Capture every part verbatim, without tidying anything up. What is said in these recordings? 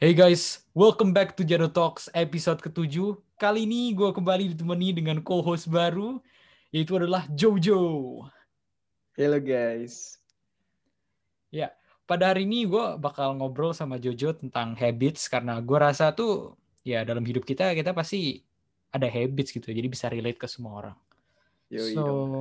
Hey guys, welcome back to Jado Talks episode ketujuh. Kali ini gue kembali ditemani dengan co-host baru, yaitu adalah Jojo. Halo guys. Ya, pada hari ini gue bakal ngobrol sama Jojo tentang habits, karena gue rasa tuh, ya dalam hidup kita, kita pasti ada habits gitu, jadi bisa relate ke semua orang. Yoi So, dong.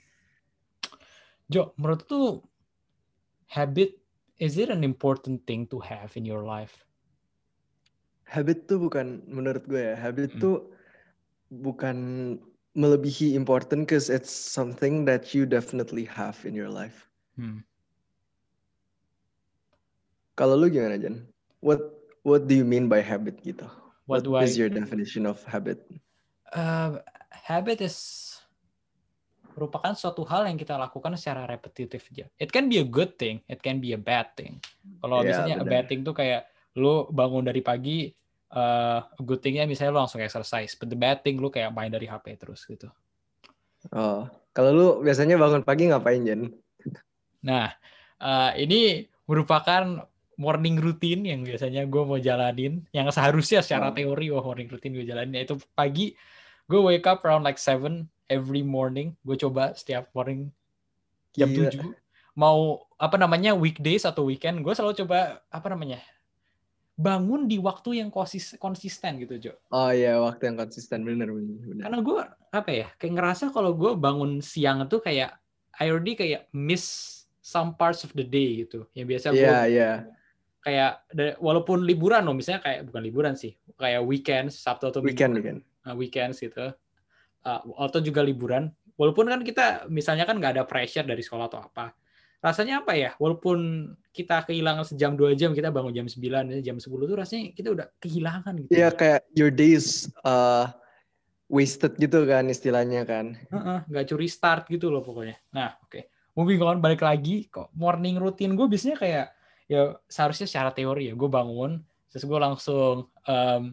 Jo, menurut tuh, habit, is it an important thing to have in your life? Habit tuh bukan, menurut gue ya, habit Hmm. tuh bukan melebihi important cause it's something that you definitely have in your life. Hmm. Kalau lu gimana, Jan? What What do you mean by habit gitu? What What do is I... your definition of habit? Uh, habit is merupakan suatu hal yang kita lakukan secara repetitif aja. It can be a good thing, it can be a bad thing. Kalau Ya, misalnya a bad benar. thing tuh kayak lu bangun dari pagi, uh, a good thingnya misalnya lu langsung exercise, but the bad thing lu kayak main dari H P terus gitu. Oh, kalau lu biasanya bangun pagi ngapain, Jan? Nah, uh, ini merupakan morning routine yang biasanya gue mau jalanin, yang seharusnya secara Oh, teori, wah morning routine gue jalanin, yaitu pagi, gue wake up around like seven every morning, gue coba setiap morning jam gila. tujuh mau apa namanya weekdays atau weekend, gue selalu coba apa namanya bangun di waktu yang konsis- konsisten gitu, Jo. Oh iya, waktu yang konsisten, bener bener bener. Karena gue apa ya kayak ngerasa kalau gue bangun siang itu kayak I already kayak miss some parts of the day gitu. Yang biasa gue Iya iya. kayak walaupun liburan loh, misalnya kayak bukan liburan sih, kayak weekend Sabtu atau Minggu, Weekend weekend. uh, weekends gitu, uh, atau juga liburan. Walaupun kan kita misalnya kan nggak ada pressure dari sekolah atau apa, rasanya apa ya, walaupun kita kehilangan sejam dua jam, kita bangun jam sembilan jam sepuluh tuh rasanya kita udah kehilangan gitu Iya ya. kayak your days uh, wasted gitu kan istilahnya kan. Heeh, nggak curi start gitu loh pokoknya. Nah oke, okay. Moving on, balik lagi kok morning routine gue biasanya kayak ya seharusnya secara teori ya gue bangun terus gue langsung um,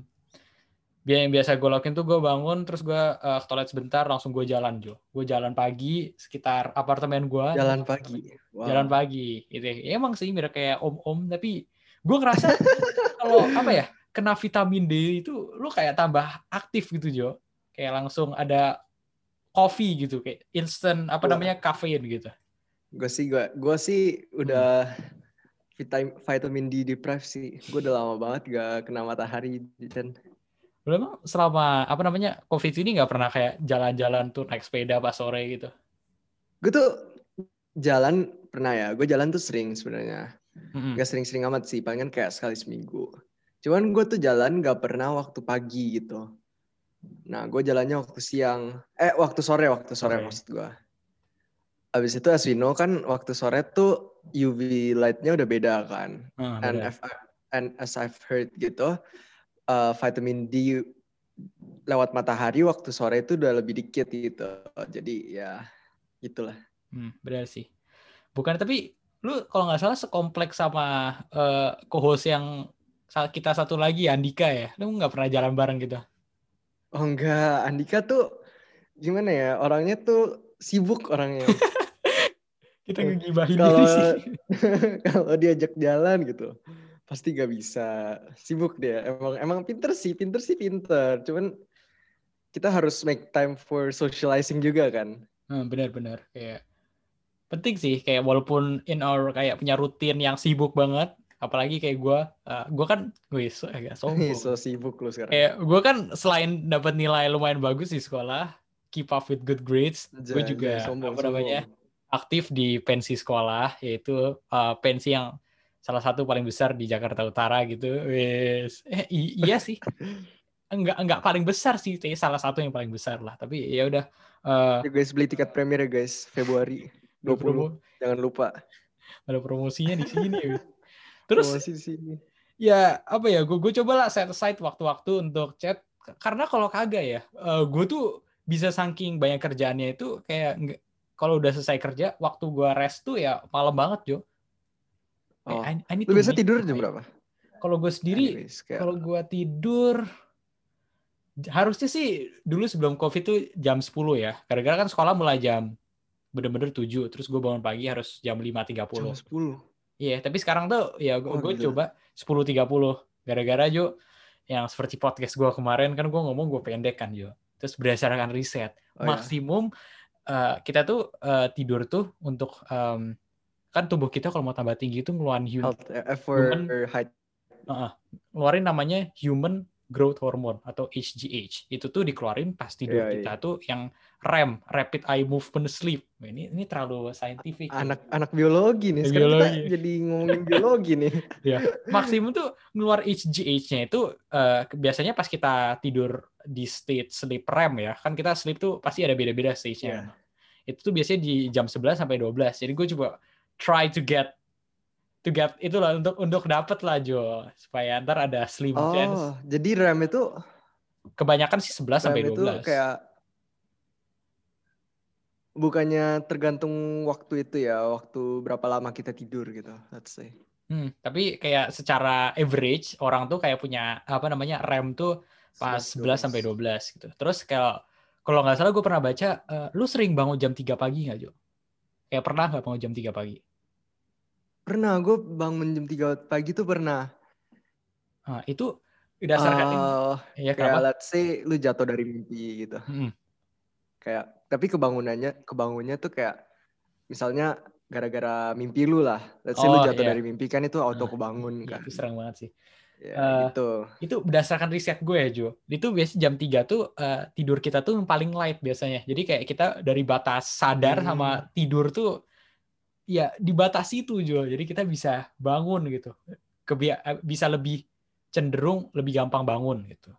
yang biasa gue lakuin tuh gue bangun terus gue uh, ke toilet sebentar langsung gue jalan, Jo. Gue jalan pagi sekitar apartemen gue, Jalan pagi. jalan Wow. pagi gitu ya. Emang sih mirip kayak om-om, tapi gue ngerasa kalau apa ya kena vitamin D itu lu kayak tambah aktif gitu, Jo. Kayak langsung ada coffee gitu, kayak instant apa Wah, namanya kafein gitu. gue sih gue gue sih Hmm. udah vitamin vitamin D deprived sih. Gue udah lama banget gak kena matahari dan Lu emang selama apa namanya COVID ini nggak pernah kayak jalan-jalan tuh naik sepeda pas sore gitu? gue tuh jalan pernah ya. Gue jalan tuh sering sebenarnya. Mm-mm. Gak sering-sering amat sih. Palingan kayak sekali seminggu. Cuman gue tuh jalan gak pernah waktu pagi gitu. Nah, gue jalannya waktu siang. Eh, waktu sore, waktu sore Sore. maksud gue. Abis itu as we know kan waktu sore tuh U V light-nya udah beda kan. Ah, And, benar. if I, and as I've heard gitu, uh, vitamin D lewat matahari waktu sore itu udah lebih dikit gitu. Jadi ya gitulah. Hmm, benar sih. Bukan, tapi lu kalau nggak salah sekompleks sama uh, co-host yang kita satu lagi, Andika ya. Lu nggak pernah jalan bareng gitu. Oh enggak, Andika tuh gimana ya? Orangnya tuh sibuk orangnya. Kita ngegibahin diri sih. Kalau kalau diajak jalan gitu, pasti gak bisa. Sibuk dia. Emang emang pinter sih, pinter sih pinter. Cuman kita harus make time for socializing juga kan. Hmm, benar-benar kayak penting sih, kayak walaupun in our kayak punya rutin yang sibuk banget, apalagi kayak gue, uh, gue kan gue so, agak So sombong. sibuk lu sekarang. Kayak gue kan selain dapat nilai lumayan bagus di sekolah, keep up with good grades, gue Jay, Jay, juga sombong, apa namanya sombong. aktif di pensi sekolah, yaitu uh, pensi yang salah satu paling besar di Jakarta Utara gitu. Wes, eh, i- iya sih, enggak enggak paling besar sih, tapi salah satu yang paling besar lah. Tapi ya udah, uh, Ya guys, beli tiket premier ya guys, Februari ada dua puluh. promo, Jangan lupa. ada promosinya di sini. Wes. Terus Promosi di sini. ya apa ya, gue gue coba lah set aside waktu-waktu untuk chat, karena kalau kagak ya uh, gue tuh bisa saking banyak kerjaannya itu kayak nggak- kalau udah selesai kerja waktu gue rest tuh ya malam banget, Jo. Kayak Oh, I, I need lu to biasa make tidur jam time. berapa? Kalau gue sendiri, Anyways, kayak kalau gue tidur harusnya sih dulu sebelum COVID tuh jam sepuluh ya, gara-gara kan sekolah mulai jam bener-bener tujuh, terus gue bangun pagi harus jam lima tiga jam puluh. sepuluh. Iya, tapi sekarang tuh ya gue Wah gue gila. coba sepuluh tiga puluh, Gara-gara Jo, yang seperti podcast gue kemarin kan gue ngomong gue pendek kan Jo. Terus berdasarkan riset, Oh ya. maksimum uh, kita tuh uh, tidur tuh untuk um, kan tubuh kita kalau mau tambah tinggi itu ngeluarin hum- Health uh, for human height. uh, ngeluarin namanya human growth hormone atau H G H. Itu tuh dikeluarin pas tidur Iya, kita iya. tuh yang R E M, rapid eye movement sleep. Ini ini terlalu saintifik. Anak anak biologi nih. Sekarang kita Biologi. jadi ngomongin biologi nih. Ya, maksimum tuh ngeluar H G H-nya itu uh, biasanya pas kita tidur di state sleep R E M ya. Kan kita sleep tuh pasti ada beda-beda stage-nya. Yeah. Itu tuh biasanya di jam sebelas sampai dua belas. Jadi gue coba try to get to get itulah untuk untuk dapet lah Jo, supaya ntar ada slim Oh, chance. jadi R E M itu Kebanyakan sih sebelas sampai dua belas. R E M itu kayak bukannya tergantung waktu itu ya, waktu berapa lama kita tidur gitu, let's say. Hmm, tapi kayak secara average orang tuh kayak punya apa namanya R E M tuh pas sebelas sampai dua belas gitu. Terus kalau kalau nggak salah gue pernah baca, uh, lu sering bangun jam tiga pagi nggak Jo? Kayak pernah nggak bangun jam tiga pagi? Pernah, gue bangun jam tiga pagi tuh pernah. Nah, itu berdasarkan Uh, ini. Ya, kayak kenapa? let's say lu jatuh dari mimpi gitu. Hmm. Kayak tapi kebangunannya kebangunnya tuh kayak misalnya gara-gara mimpi lu lah. Let's say Oh, lu jatuh iya. dari mimpi kan itu auto Nah, kebangun iya, kan. itu serang banget sih. Ya uh, gitu. Itu berdasarkan riset gue ya Jo. Itu biasanya jam tiga tuh uh, tidur kita tuh yang paling light biasanya. Jadi kayak kita dari batas sadar Hmm. sama tidur tuh ya dibatasi itu Jo. Jadi kita bisa bangun gitu. Kebia- bisa lebih cenderung lebih gampang bangun gitu.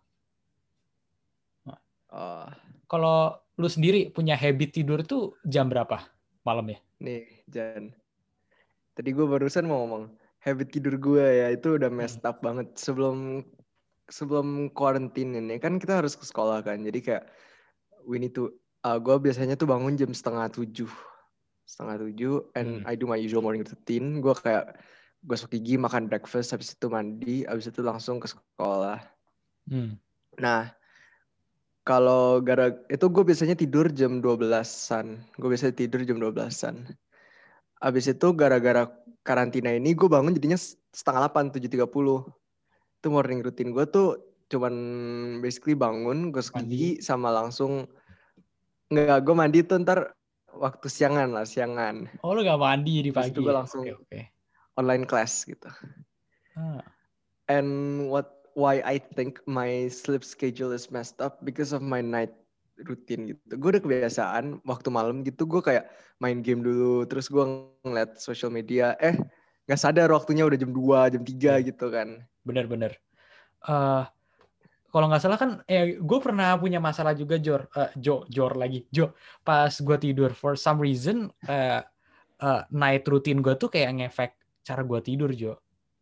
Nah, Oh. kalau lu sendiri punya habit tidur tuh jam berapa malam ya? Nih, Jan. Tadi gue barusan mau ngomong habit tidur gue ya itu udah messed up banget sebelum sebelum quarantine ini kan kita harus ke sekolah kan. Jadi kayak we need to uh, gue biasanya tuh bangun jam setengah tujuh setengah tujuh and Hmm. I do my usual morning routine. Gue kayak gosok gigi, makan breakfast, habis itu mandi, habis itu langsung ke sekolah. Hmm. Nah, kalau gara itu gue biasanya tidur jam dua belasan. Gue biasanya tidur jam dua belasan. Habis itu gara-gara karantina ini gue bangun jadinya setengah delapan, tujuh tiga puluh. Itu morning routine gue tuh cuman basically bangun, gosok gigi, sama langsung nggak, gue mandi tuh ntar waktu siangan lah, siangan. Oh, lu gak mandi di Habis pagi itu gue ya? langsung Okay, okay. online class gitu. Ah. And what why I think my sleep schedule is messed up because of my night routine gitu. Gue udah kebiasaan waktu malam gitu gue kayak main game dulu, terus gue ngeliat social media, eh nggak sadar waktunya udah jam dua, jam tiga yeah. gitu kan. Bener-bener. Uh, kalau nggak salah kan, eh gue pernah punya masalah juga Jor, uh, Jo, Jor lagi, Jo. Pas gue tidur, for some reason uh, uh, night routine gue tuh kayak ngefek cara gue tidur Jo.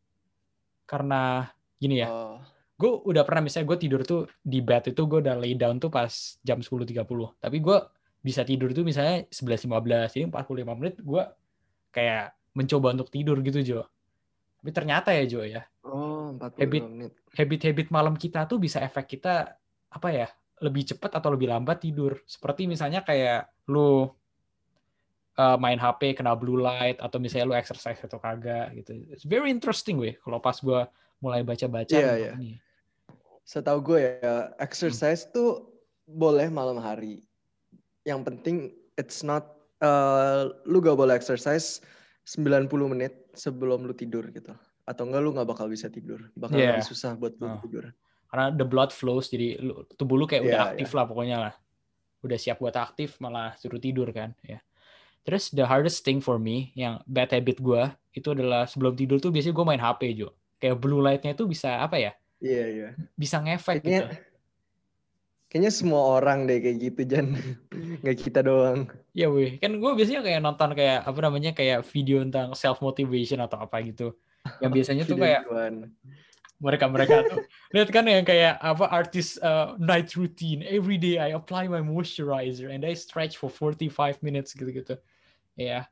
Karena gini ya, oh. gue udah pernah misalnya gue tidur tuh di bed itu gue udah lay down tuh pas jam sepuluh tiga puluh. Tapi gue bisa tidur tuh misalnya sebelas lima belas, jadi empat puluh lima menit gue kayak mencoba untuk tidur gitu Jo. Tapi ternyata ya Jo ya, oh, empat puluh lima habit, menit. habit-habit malam kita tuh bisa efek kita apa ya, lebih cepat atau lebih lambat tidur. Seperti misalnya kayak lu uh, main H P kena blue light, atau misalnya lu exercise atau kagak gitu. It's very interesting weh kalau pas gue mulai baca-baca yeah, tentang yeah. ini. Setahu gue ya, exercise hmm. tuh boleh malam hari. Yang penting it's not uh, lu gak boleh exercise sembilan puluh menit sebelum lu tidur gitu. Atau enggak lu gak bakal bisa tidur. Bakal yeah. lebih susah buat lu oh. tidur. Karena the blood flows, jadi lu, tubuh lu kayak yeah, udah aktif yeah. lah pokoknya lah. Udah siap buat aktif, malah suruh tidur kan. Ya. Terus the hardest thing for me, yang bad habit gue, itu adalah sebelum tidur tuh biasanya gue main H P Jo. Kayak blue light-nya itu bisa apa ya? Iya, yeah, iya. Yeah. Bisa ngefek kayaknya, gitu. Kayaknya semua orang deh kayak gitu, Jan. Nggak kita doang. Ya weh, kan gue biasanya kayak nonton kayak apa namanya, kayak video tentang self motivation atau apa gitu. Yang biasanya tuh kayak mereka-mereka tuh lihat kan yang kayak apa artis uh, night routine, every day I apply my moisturizer and I stretch for forty-five minutes gitu-gitu. Ya. Yeah.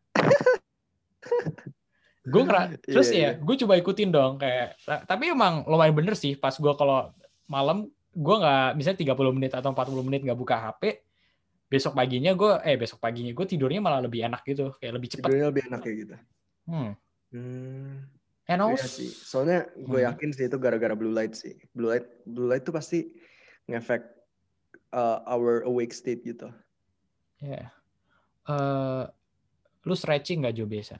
Gue ngera- terus yeah, ya, yeah. gue coba ikutin dong kayak, tapi emang lumayan bener sih pas gue kalau malam gue nggak misalnya tiga puluh menit atau empat puluh menit nggak buka H P, besok paginya gue eh besok paginya gue tidurnya malah lebih enak gitu, kayak lebih cepat. Tidurnya lebih enak kayak gitu. Hmm. Hmm. And Iya also, sih. Soalnya gue hmm, yakin sih itu gara-gara blue light sih. Blue light, blue light tuh pasti ngefek uh, our awake state gitu. ya, yeah. uh, lu stretching nggak Jo biasa?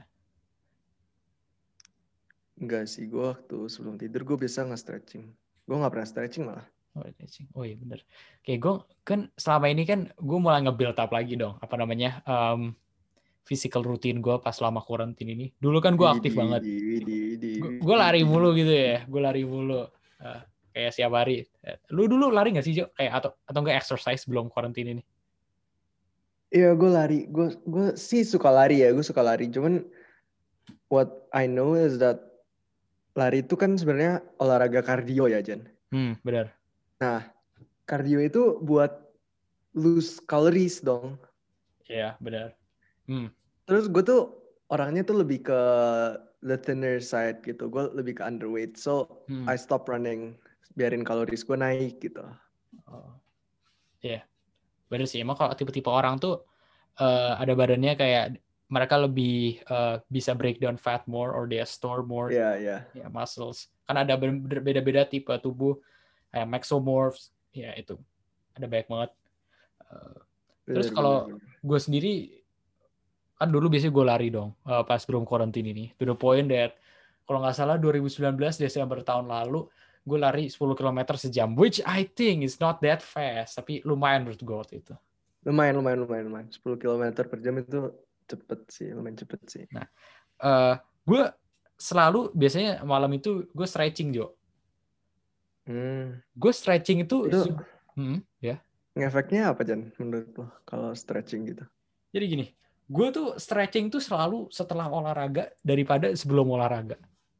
Enggak sih, gue waktu sebelum tidur gue biasa nge-stretching. Gue nggak pernah stretching malah. Oh, stretching. Oh iya bener. Kayak gue kan selama ini kan gue mulai nge-build up lagi dong. Apa namanya? Um, physical routine gue pas selama karantina ini. Dulu kan gue aktif Widi, banget. widi, widi, widi, Gue lari widi. mulu gitu ya. Gue lari mulu. Uh, kayak siap hari. Lu dulu lari nggak sih Jo? Kayak atau atau nggak exercise sebelum karantina ini? Iya, gue lari. Gue gue sih suka lari ya. Gue suka lari. Cuman what I know is that lari itu kan sebenarnya olahraga kardio ya, Jan. Hmm, benar. Nah, kardio itu buat lose calories dong. Iya, benar. Hmm. Terus gue tuh orangnya tuh lebih ke the thinner side gitu. Gue lebih ke underweight. So, Hmm. I stop running. Biarin kaloris gue naik gitu. Oh. Iya, benar sih. Emang kalau tipe-tipe orang tuh uh, ada badannya kayak mereka lebih uh, bisa break down fat more or they store more Iya, yeah, iya. Yeah. ya, muscles. Kan ada beda-beda tipe tubuh kayak mesomorphs. Ya itu ada banyak banget. Uh, terus Bener, bener, kalau bener. gue sendiri kan dulu biasanya gue lari dong uh, pas belum karantina ini. To the point that kalau nggak salah dua ribu sembilan belas Desember tahun lalu gue lari sepuluh kilometer sejam, which I think is not that fast, tapi lumayan menurut gue waktu itu. Lumayan, lumayan, lumayan, lumayan. sepuluh kilometer per jam itu cepet sih, lumayan cepet sih. Nah, uh, gue selalu biasanya malam itu gue stretching Jo. Hmm. Gue stretching itu, Itu hmm, ya. ngefeknya apa, Jan, menurut lo kalau stretching gitu? Jadi gini, gue tuh stretching tuh selalu setelah olahraga daripada sebelum olahraga.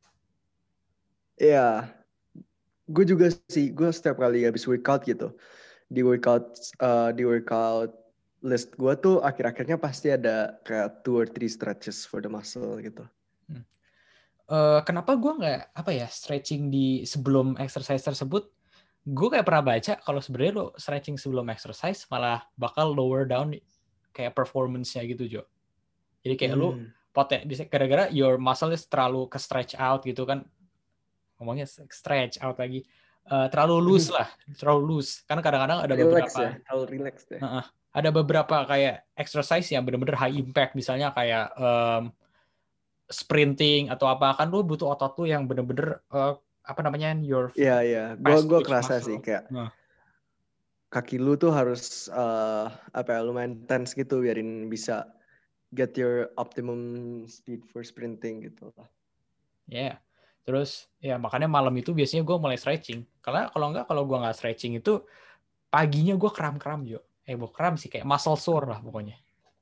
Iya, gue juga sih. Gue setiap kali habis workout gitu, di workout uh, di workout list gue tuh akhir-akhirnya pasti ada kayak two or three stretches for the muscle gitu. Hmm. Uh, kenapa gue nggak apa ya stretching di sebelum exercise tersebut? Gue kayak pernah baca kalau sebenarnya lo stretching sebelum exercise malah bakal lower down kayak performance-nya gitu Jo. Jadi kayak lo Hmm. poten gara-gara your muscle is terlalu ke stretch out gitu kan, ngomongnya stretch out lagi, uh, terlalu loose lah, terlalu loose. Karena kadang-kadang ada Relax beberapa, ya, terlalu relax deh. uh, ada beberapa kayak exercise yang benar-benar high impact, misalnya kayak um, sprinting atau apa, kan lu butuh otot tuh yang bener-bener uh, apa namanya your Iya, iya. Gue fast gue twitch kerasa sih muscle. kayak Nah, kaki lu tuh harus uh, apa ya, lumayan tense gitu biarin bisa get your optimum speed for sprinting gitu lah. ya. Yeah. Terus ya makanya malam itu biasanya gue mulai stretching. Karena kalau enggak, kalau gue nggak stretching itu paginya gue kram-kram Jo. Eh bukan kram sih, kayak muscle sore lah pokoknya.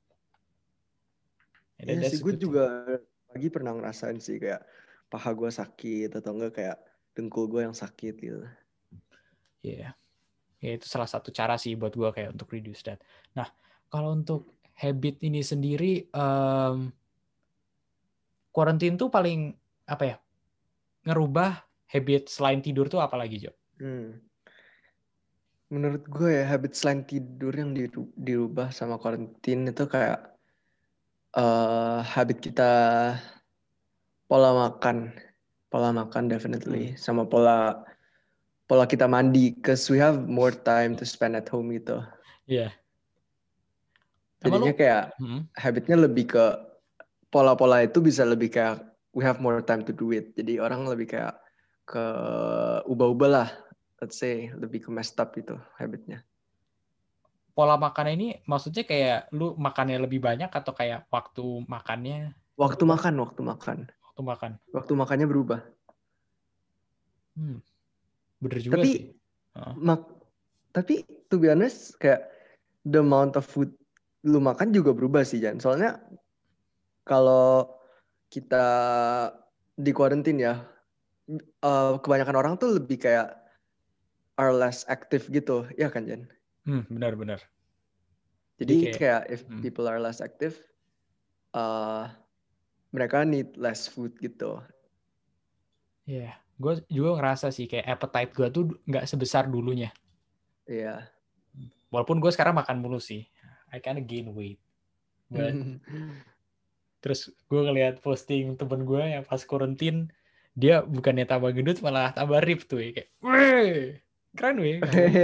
Iya Yeah, sih, that's a gue good thing. juga pagi pernah ngerasain sih kayak paha gue sakit atau enggak kayak dengkul gue yang sakit gitu. Iya. Yeah. Ya itu salah satu cara sih buat gue kayak untuk reduce that. Nah, kalau untuk habit ini sendiri, um, quarantine tuh paling apa ya? Ngerubah habit selain tidur tuh apa lagi, Jo? Hmm. Menurut gue ya habit selain tidur yang dirubah sama karantin itu kayak uh, habit kita pola makan, pola makan definitely, Hmm. sama pola pola kita mandi, cause we have more time to spend at home gitu. Iya. Emang lu? Jadinya kayak Hmm. habitnya lebih ke pola-pola itu bisa lebih kayak we have more time to do it. Jadi orang lebih kayak ke ubah-ubah lah, let's say lebih ke messed up gitu habitnya. Pola makan ini maksudnya kayak lu makannya lebih banyak atau kayak waktu makannya Waktu berubah? makan, waktu makan, Waktu makan. waktu makannya berubah. Hmm. Bener juga Tapi sih. Uh. mak, tapi to be honest kayak the amount of food lu makan juga berubah sih Jan. Soalnya kalau kita di quarantine ya, uh, kebanyakan orang tuh lebih kayak are less active gitu, ya kan Jan? Hmm, benar-benar. Jadi Jadi kayak, kayak if hmm. people are less active, uh, mereka need less food gitu. Ya, yeah. Gue juga ngerasa sih kayak appetite gue tuh nggak sebesar dulunya. Iya. Yeah. Walaupun gue sekarang makan mulu sih. I kinda gain weight. But terus gue ngeliat posting temen gue yang pas quarantine, dia bukannya tambah gendut malah tambah rip tuh ya. Kayak, weh, keren weh.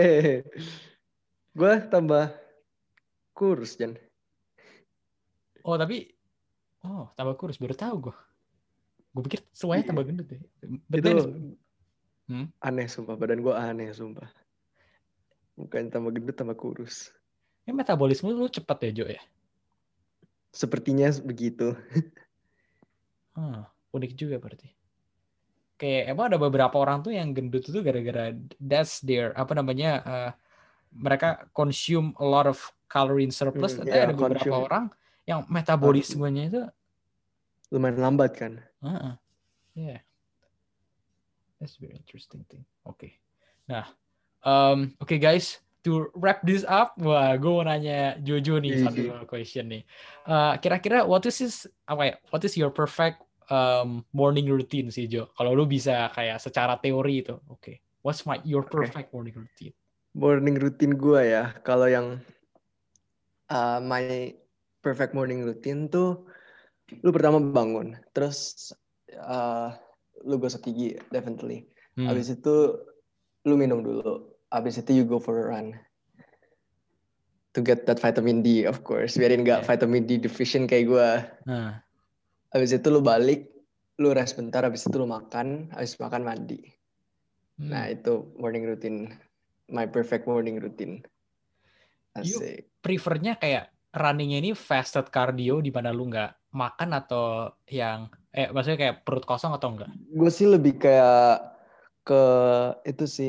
Gue tambah kurus, Jan. Oh tapi, oh tambah kurus, baru tahu gue. Gue pikir semuanya tambah gendut deh. But Itu then it's- hmm? aneh sumpah, badan gue aneh sumpah. Bukan tambah gendut, tambah kurus. Ya metabolisme lu cepet ya Jo ya? Sepertinya begitu. Hmm, unik juga berarti. Kayak emang ada beberapa orang tuh yang gendut itu gara-gara that's their, apa namanya, uh, mereka consume a lot of calorie in surplus. Hmm, Tapi ya, ada beberapa konsum orang yang uh, metabolismenya itu, lumayan lambat kan. uh-uh, yeah, that's very interesting thing. Oke, okay. Nah, um, oke okay guys, to wrap this up, wah, gue mau nanya Jojo nih Ih. satu question nih. Uh, kira-kira what is this, apa ya? What is your perfect um, morning routine sih Jo? Kalau lu bisa kayak secara teori itu, oke. Okay. What's my your perfect okay. morning routine? Morning routine gue ya, kalau yang uh, my perfect morning routine tuh, lu pertama bangun, terus uh, lu gosok gigi, definitely. Hmm. Abis itu lu minum dulu, abis itu you go for a run. To get that vitamin D, of course. Biarin nggak yeah. vitamin D deficient kayak gue. Nah. Abis itu lu balik, lu rest bentar, abis itu lu makan, abis makan mandi. Hmm. Nah itu morning routine, my perfect morning routine. You prefernya kayak runningnya ini fasted cardio di mana lu nggak makan atau yang, eh maksudnya kayak perut kosong atau enggak? Gue sih lebih kayak ke itu sih,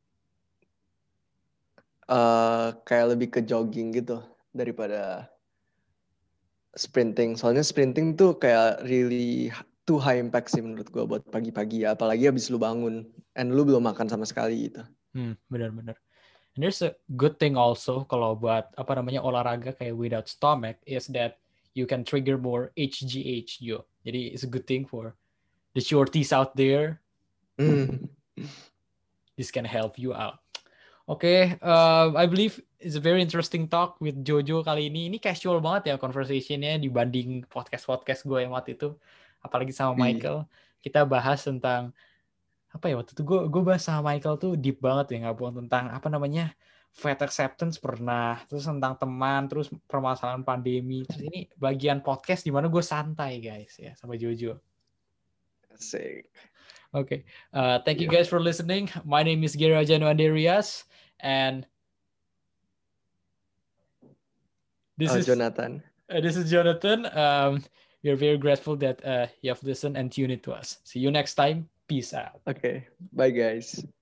uh, kayak lebih ke jogging gitu daripada sprinting. Soalnya sprinting tuh kayak really too high impact sih menurut gue buat pagi-pagi ya. Apalagi abis lu bangun and lu belum makan sama sekali gitu. Hmm, benar-benar. And there's a good thing also kalau buat apa namanya olahraga kayak without stomach is that you can trigger more H G H yo. Jadi it's a good thing for the shorties out there. Mm. This can help you out. Oke, okay, uh, I believe it's a very interesting talk with Jojo kali ini. Ini casual banget ya conversation-nya dibanding podcast-podcast gue yang waktu itu. Apalagi sama Michael. Kita bahas tentang apa ya waktu itu gue gue bahas sama Michael tuh deep banget ya, nggak bohong, tentang apa namanya fat acceptance pernah, terus tentang teman, terus permasalahan pandemi, terus ini bagian podcast di mana gue santai guys ya sama Jojo. Asik. Oke, okay. uh, thank you guys for listening. My name is Gera Januanderias and this oh, is Jonathan. Uh, this is Jonathan. Um, we are very grateful that uh, you have listened and tuned in to us. See you next time. Peace out. Okay, bye guys.